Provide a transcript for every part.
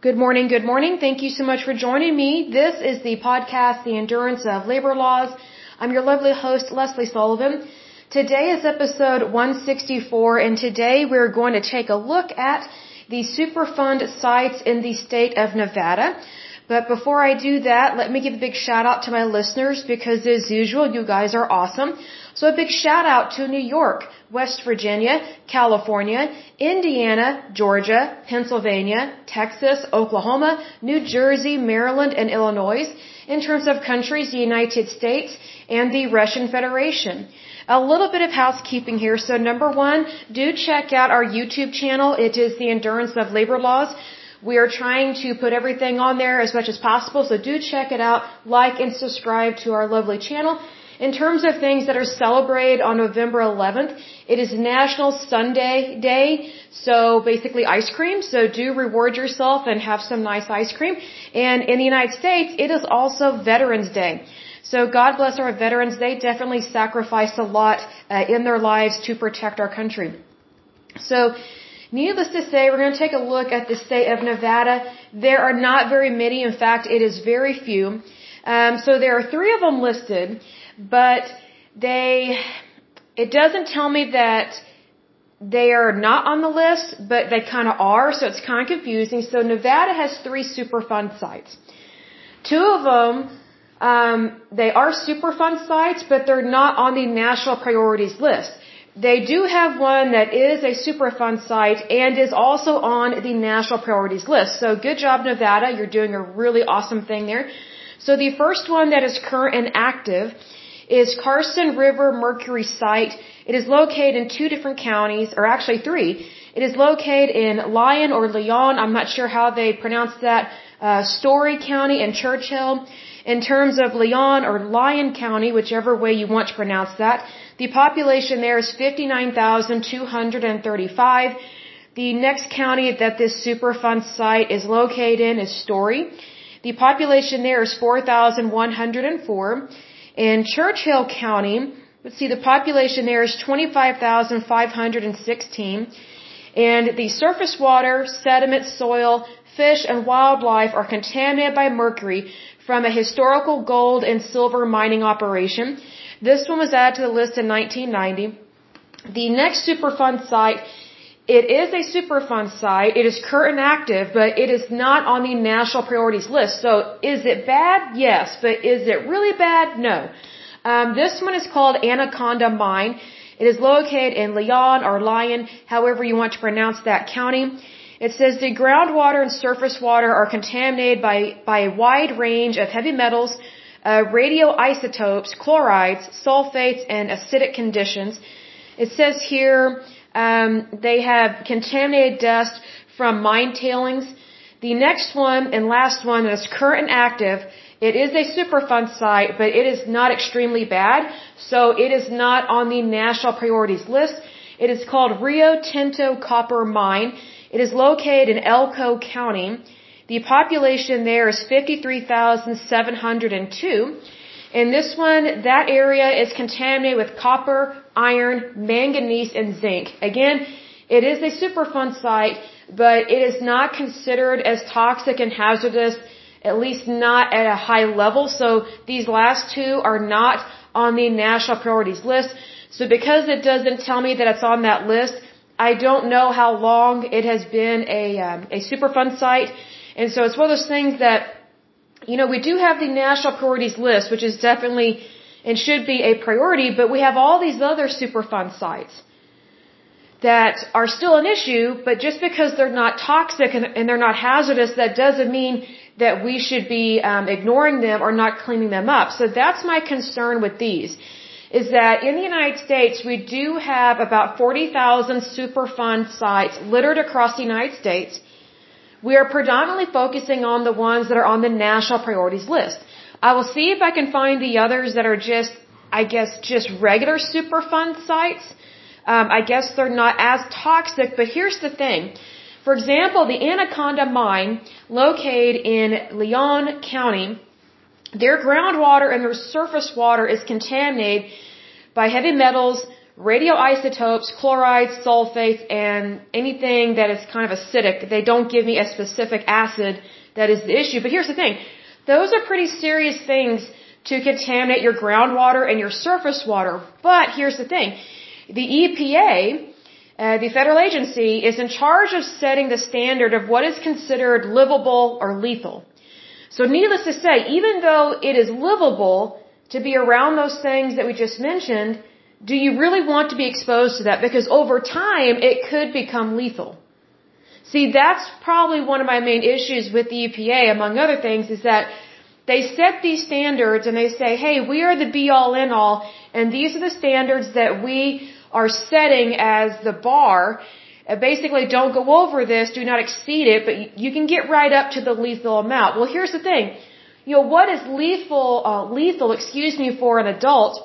Good morning, good morning. Thank you so much for joining me. This is the podcast, The Endurance of Labor Laws. I'm your lovely host, Leslie Sullivan. Today is episode 164, and today we're going to take a look at the Superfund sites in the state of Nevada. But before I do that, let me give a big shout out to my listeners because as usual, you guys are awesome. So a big shout out to New York, West Virginia, California, Indiana, Georgia, Pennsylvania, Texas, Oklahoma, New Jersey, Maryland, and Illinois. In terms of countries, the United States and the Russian Federation. A little bit of housekeeping here. So number one, do check out our YouTube channel. It is The Endurance of Labor Laws. We are trying to put everything on there as much as possible, so do check it out, like and subscribe to our lovely channel. In terms of things that are celebrated on November 11th, it is National Sundae Day, so basically ice cream, so do reward yourself and have some nice ice cream. And in the United States, it is also Veterans Day. So God bless our veterans. They definitely sacrificed a lot in their lives to protect our country. So needless to say, we're going to take a look at the state of Nevada. There are not very many. In fact, it is very few. So there are 3 of them listed, but it doesn't tell me that they are not on the list, but they kind of are, so it's kind of confusing. So Nevada has 3 Superfund sites. 2 of them, they are Superfund sites, but they're not on the national priorities list. They do have one that is a Superfund site and is also on the national priorities list. So good job, Nevada. You're doing a really awesome thing there. So the first one that is current and active is Carson River Mercury site. It is located in 2 different counties, or actually 3. It is located in Lyon or Leon. I'm not sure how they pronounce that. Story County and Churchill. In terms of Leon or Lyon County, whichever way you want to pronounce that, the population there is 59,235. The next county that this Superfund site is located in is Story. The population there is 4,104. In Churchill County, let's see, the population there is 25,516. And the surface water, sediment, soil, fish, and wildlife are contaminated by mercury from a historical gold and silver mining operation. This one was added to the list in 1990. The next Superfund site, it is a Superfund site. It is current and active, but it is not on the national priorities list. So is it bad? Yes. But is it really bad? No. This one is called Anaconda Mine. It is located in Leon or Lyon, however you want to pronounce that county. It says the groundwater and surface water are contaminated by a wide range of heavy metals, radioisotopes, chlorides, sulfates, and acidic conditions. It says here they have contaminated dust from mine tailings. The next one and last one that is current and active, it is a Superfund site, but it is not extremely bad, so it is not on the national priorities list. It is called Rio Tinto Copper Mine. It is located in Elko County. The population there is 53,702. In this one, that area is contaminated with copper, iron, manganese, and zinc. Again, it is a Superfund site, but it is not considered as toxic and hazardous, at least not at a high level. So these last 2 are not on the national priorities list. So because it doesn't tell me that it's on that list, I don't know how long it has been a Superfund site. And so it's one of those things that, we do have the national priorities list, which is definitely and should be a priority, but we have all these other Superfund sites that are still an issue, but just because they're not toxic and they're not hazardous, that doesn't mean that we should be ignoring them or not cleaning them up. So that's my concern with these. Is that in the United States, we do have about 40,000 Superfund sites littered across the United States. We are predominantly focusing on the ones that are on the national priorities list. I will see if I can find the others that are just regular Superfund sites. I guess they're not as toxic, but here's the thing. For example, the Anaconda Mine, located in Leon County, their groundwater and their surface water is contaminated by heavy metals, radioisotopes, chlorides, sulfates, and anything that is kind of acidic. They don't give me a specific acid that is the issue. But here's the thing. Those are pretty serious things to contaminate your groundwater and your surface water. But here's the thing. The EPA, the federal agency, is in charge of setting the standard of what is considered livable or lethal. So needless to say, even though it is livable to be around those things that we just mentioned, do you really want to be exposed to that? Because over time, it could become lethal. See, that's probably one of my main issues with the EPA, among other things, is that they set these standards and they say, hey, we are the be-all, end-all, and these are the standards that we are setting as the bar. Basically, don't go over this, do not exceed it, but you can get right up to the lethal amount. Well, here's the thing. What is lethal, for an adult,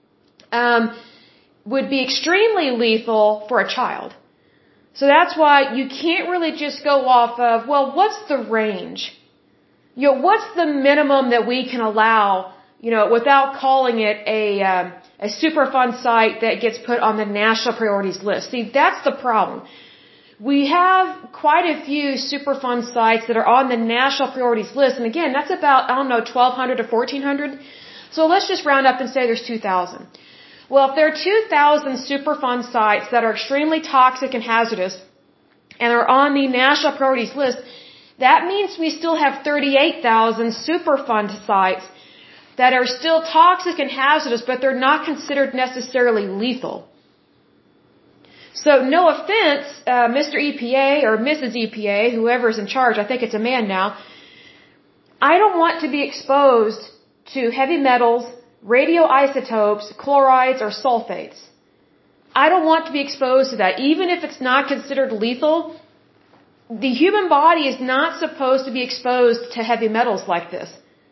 would be extremely lethal for a child. So that's why you can't really just go off of, well, what's the range? What's the minimum that we can allow, without calling it a Superfund site that gets put on the national priorities list. See, that's the problem. We have quite a few Superfund sites that are on the national priorities list. And again, that's about, 1,200 to 1,400. So let's just round up and say there's 2,000. Well, if there are 2,000 Superfund sites that are extremely toxic and hazardous and are on the national priorities list, that means we still have 38,000 Superfund sites that are still toxic and hazardous, but they're not considered necessarily lethal. So no offense, Mr. EPA or Mrs. EPA, whoever's in charge, I think it's a man now, I don't want to be exposed to heavy metals, radioisotopes, chlorides, or sulfates. I don't want to be exposed to that. Even if it's not considered lethal, the human body is not supposed to be exposed to heavy metals like this.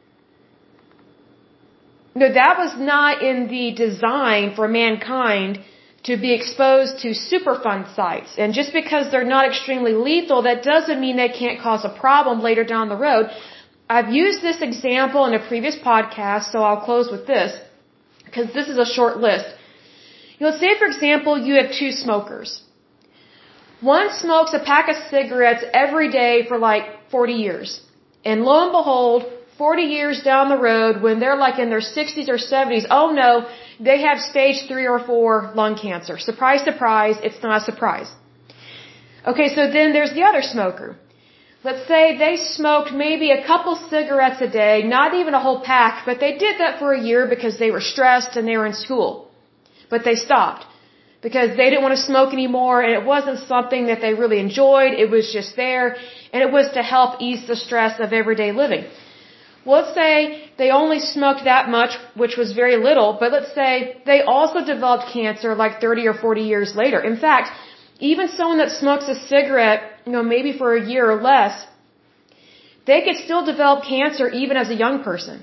No, that was not in the design for mankind to be exposed to Superfund sites. And just because they're not extremely lethal, that doesn't mean they can't cause a problem later down the road. I've used this example in a previous podcast, so I'll close with this, because this is a short list. Let's say, for example, you have two smokers. One smokes a pack of cigarettes every day for like 40 years. And lo and behold, 40 years down the road, when they're like in their 60s or 70s, oh no, they have stage 3 or 4 lung cancer. Surprise, surprise, it's not a surprise. Okay, so then there's the other smoker. Let's say they smoked maybe a couple cigarettes a day, not even a whole pack, but they did that for a year because they were stressed and they were in school. But they stopped because they didn't want to smoke anymore, and it wasn't something that they really enjoyed. It was just there, and it was to help ease the stress of everyday living. Well, let's say they only smoked that much, which was very little, but let's say they also developed cancer like 30 or 40 years later. In fact, even someone that smokes a cigarette, maybe for a year or less, they could still develop cancer even as a young person.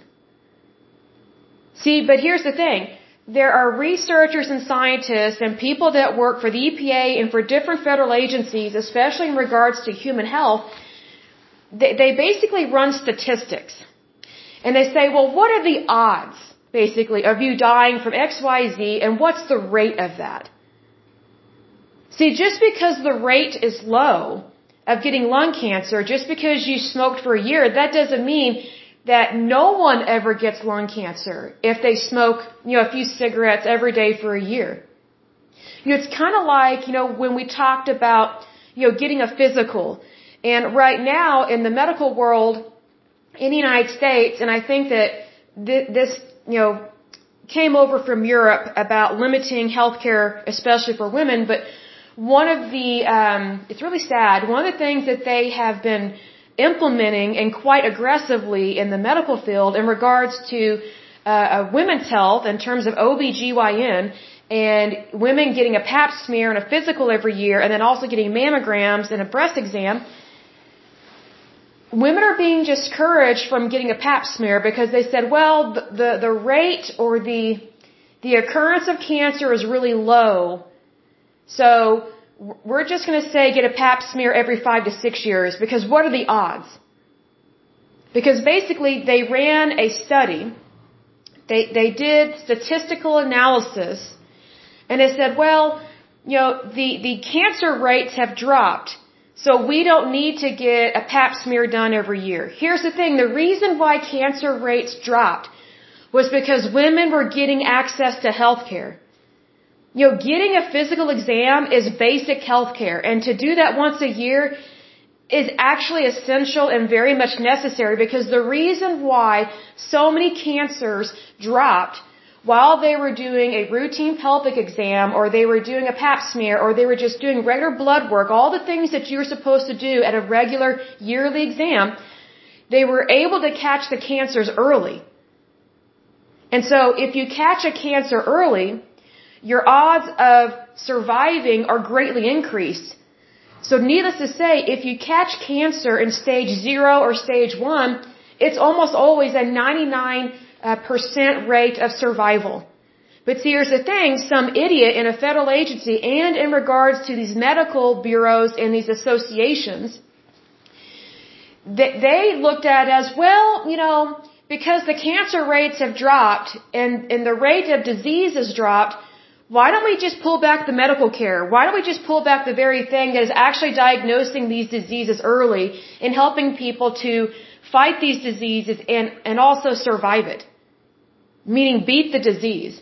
See, but here's the thing. There are researchers and scientists and people that work for the EPA and for different federal agencies, especially in regards to human health. They basically run statistics. And they say, well, what are the odds, basically, of you dying from XYZ, and what's the rate of that? See, just because the rate is low of getting lung cancer, just because you smoked for a year, that doesn't mean that no one ever gets lung cancer if they smoke, a few cigarettes every day for a year. It's kind of like, when we talked about, getting a physical. And right now, in the medical world, in the United States, and I think that this, came over from Europe about limiting healthcare, especially for women, but one of the, it's really sad, one of the things that they have been implementing and quite aggressively in the medical field in regards to women's health in terms of OBGYN and women getting a pap smear and a physical every year and then also getting mammograms and a breast exam, women are being discouraged from getting a pap smear because they said, well, the rate or the occurrence of cancer is really low. So we're just going to say get a pap smear every 5 to 6 years because what are the odds? Because basically they ran a study. They did statistical analysis And they said, well, the cancer rates have dropped, so we don't need to get a pap smear done every year. Here's the thing. The reason why cancer rates dropped was because women were getting access to health care. Getting a physical exam is basic health care, and to do that once a year is actually essential and very much necessary, because the reason why so many cancers dropped while they were doing a routine pelvic exam, or they were doing a pap smear, or they were just doing regular blood work, all the things that you're supposed to do at a regular yearly exam, they were able to catch the cancers early. And so if you catch a cancer early, your odds of surviving are greatly increased. So needless to say, if you catch cancer in stage 0 or stage 1, it's almost always a 99% rate of survival. But see, here's the thing, some idiot in a federal agency and in regards to these medical bureaus and these associations, they looked at it as, well, because the cancer rates have dropped and the rate of disease has dropped, why don't we just pull back the medical care? Why don't we just pull back the very thing that is actually diagnosing these diseases early and helping people to fight these diseases and also survive it? Meaning beat the disease.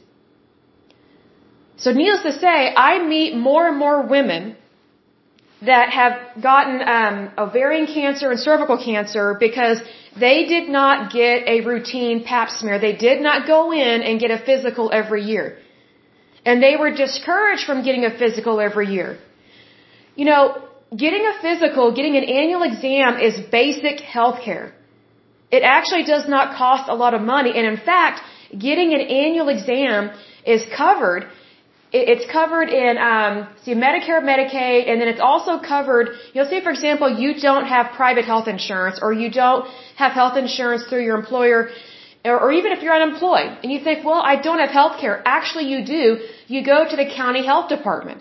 So needless to say, I meet more and more women that have gotten ovarian cancer and cervical cancer because they did not get a routine pap smear. They did not go in and get a physical every year. And they were discouraged from getting a physical every year. Getting a physical, getting an annual exam is basic health care. It actually does not cost a lot of money. And in fact, getting an annual exam is covered. It's covered in Medicare, Medicaid, and then it's also covered, say for example, you don't have private health insurance, or you don't have health insurance through your employer, or even if you're unemployed, and you think, well, I don't have health care. Actually, you do. You go to the county health department.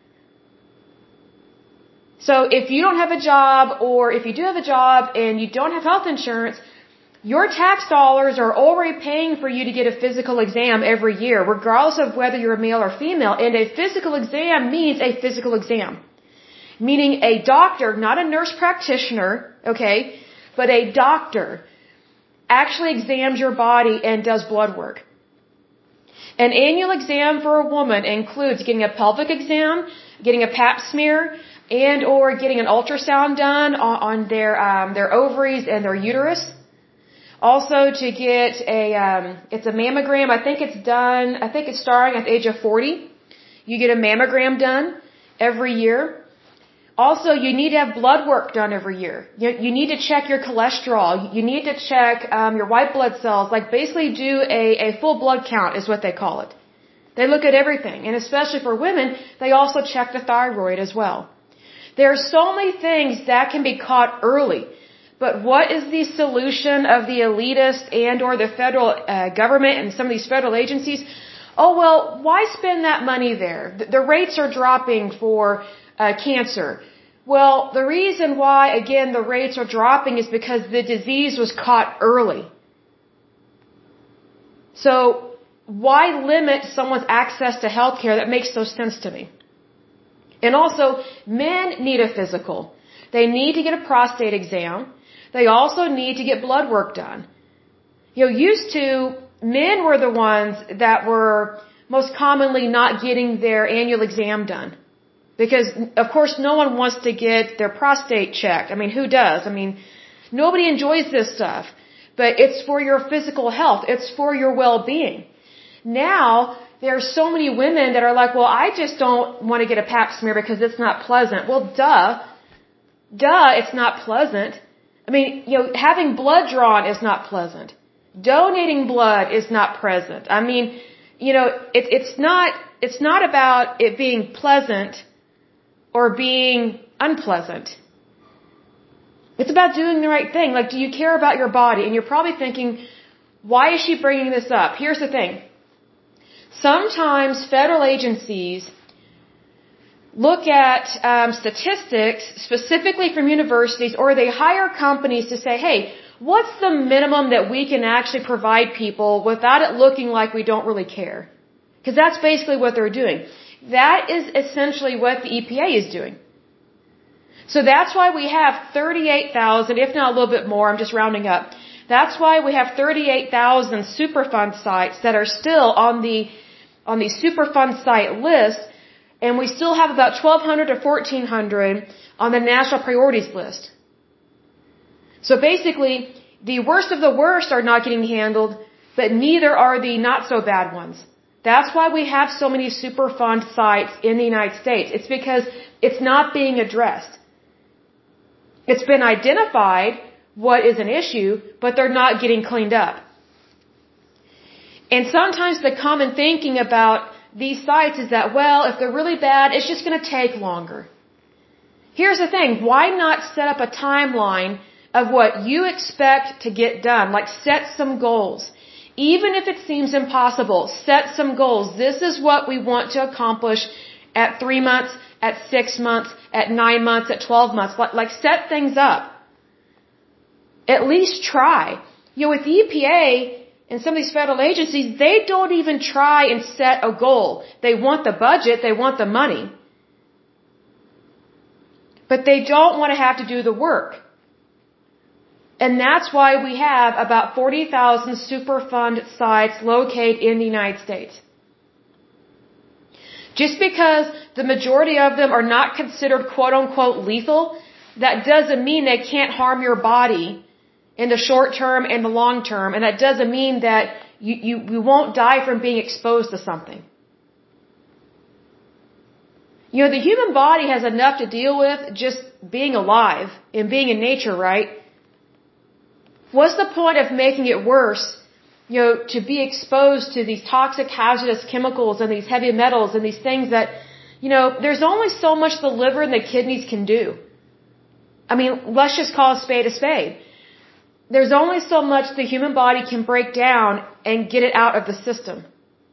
So if you don't have a job, or if you do have a job and you don't have health insurance, your tax dollars are already paying for you to get a physical exam every year, regardless of whether you're a male or female. And a physical exam means a physical exam. Meaning a doctor, not a nurse practitioner, okay, but a doctor actually examines your body and does blood work. An annual exam for a woman includes getting a pelvic exam, getting a pap smear, and or getting an ultrasound done on their ovaries and their uterus. Also to get it's a mammogram. I think it's starting at the age of 40. You get a mammogram done every year. Also, you need to have blood work done every year. You need to check your cholesterol. You need to check your white blood cells. Like basically do a full blood count is what they call it. They look at everything. And especially for women, they also check the thyroid as well. There are so many things that can be caught early. But what is the solution of the elitist and or the federal government and some of these federal agencies? Oh, well, why spend that money there? The rates are dropping for cancer. Well, the reason why, again, the rates are dropping is because the disease was caught early. So why limit someone's access to health care? That makes no sense to me. And also, men need a physical. They need to get a prostate exam. They also need to get blood work done. Used to, men were the ones that were most commonly not getting their annual exam done. Because, of course, no one wants to get their prostate checked. I mean, who does? I mean, nobody enjoys this stuff. But it's for your physical health. It's for your well-being. Now, there are so many women that are like, well, I just don't want to get a pap smear because it's not pleasant. Well, duh, it's not pleasant. I mean, having blood drawn is not pleasant. Donating blood is not pleasant. I mean, it's not about it being pleasant or being unpleasant. It's about doing the right thing. Like, do you care about your body? And you're probably thinking, why is she bringing this up? Here's the thing. Sometimes federal agencies look at statistics specifically from universities, or they hire companies to say, hey, what's the minimum that we can actually provide people without it looking like we don't really care? Because that's basically what they're doing. That is essentially what the EPA is doing. So that's why we have 38,000, if not a little bit more, I'm just rounding up. That's why we have 38,000 Superfund sites that are still on the Superfund site list, and we still have about 1,200 to 1,400 on the national priorities list. So basically, the worst of the worst are not getting handled, but neither are the not so bad ones. That's why we have so many Superfund sites in the United States. It's because it's not being addressed. It's been identified what is an issue, but they're not getting cleaned up. And sometimes the common thinking about these sites is that, well, if they're really bad, it's just going to take longer. Here's the thing. Why not set up a timeline of what you expect to get done? Like, set some goals. Even if it seems impossible, set some goals. This is what we want to accomplish at 3 months, at 6 months, at 9 months, at 12 months. Like set things up. At least try. With the EPA and some of these federal agencies, they don't even try and set a goal. They want the budget, they want the money. But they don't want to have to do the work. And that's why we have about 40,000 Superfund sites located in the United States. Just because the majority of them are not considered quote-unquote lethal, that doesn't mean they can't harm your body in the short term and the long term. And that doesn't mean that you won't die from being exposed to something. The human body has enough to deal with just being alive and being in nature, right? What's the point of making it worse, to be exposed to these toxic, hazardous chemicals and these heavy metals and these things that, there's only so much the liver and the kidneys can do. I mean, let's just call a spade a spade. There's only so much the human body can break down and get it out of the system.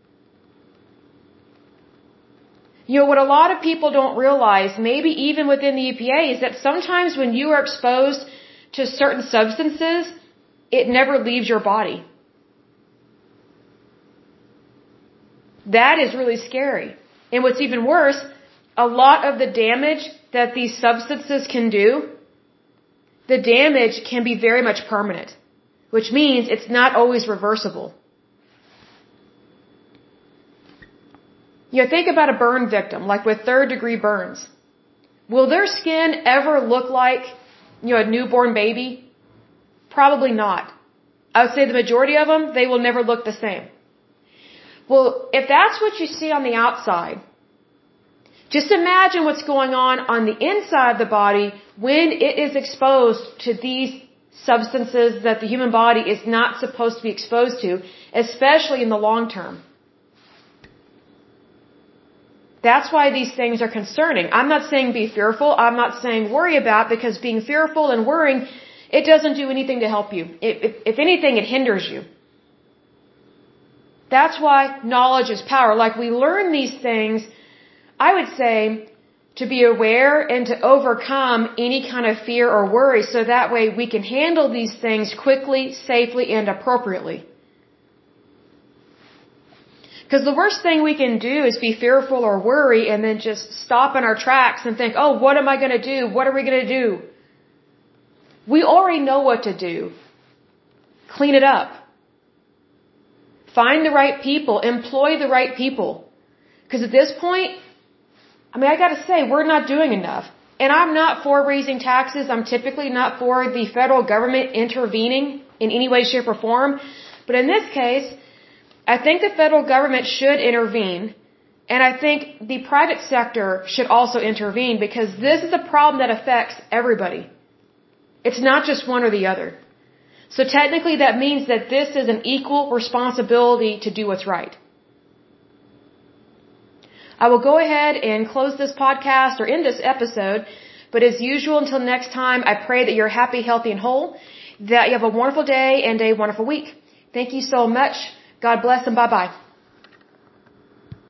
What a lot of people don't realize, maybe even within the EPA, is that sometimes when you are exposed to certain substances, it never leaves your body. That is really scary. And what's even worse, a lot of the damage that these substances can do, the damage can be very much permanent, which means it's not always reversible. Think about a burn victim, like with third-degree burns. Will their skin ever look like, a newborn baby? Probably not. I would say the majority of them, they will never look the same. Well, if that's what you see on the outside, just imagine what's going on the inside of the body when it is exposed to these substances that the human body is not supposed to be exposed to, especially in the long term. That's why these things are concerning. I'm not saying be fearful. I'm not saying worry about, because being fearful and worrying, it doesn't do anything to help you. If anything, it hinders you. That's why knowledge is power. Like, we learn these things, I would say, to be aware and to overcome any kind of fear or worry, so that way we can handle these things quickly, safely, and appropriately. Because the worst thing we can do is be fearful or worry and then just stop in our tracks and think, oh, what am I going to do? What are we going to do? We already know what to do. Clean it up. Find the right people. Employ the right people. Because at this point, I got to say, we're not doing enough. And I'm not for raising taxes. I'm typically not for the federal government intervening in any way, shape, or form. But in this case, I think the federal government should intervene, and I think the private sector should also intervene, because this is a problem that affects everybody. It's not just one or the other. So technically that means that this is an equal responsibility to do what's right. I will go ahead and close this podcast or end this episode, but as usual, until next time, I pray that you're happy, healthy, and whole, that you have a wonderful day and a wonderful week. Thank you so much. God bless and bye-bye.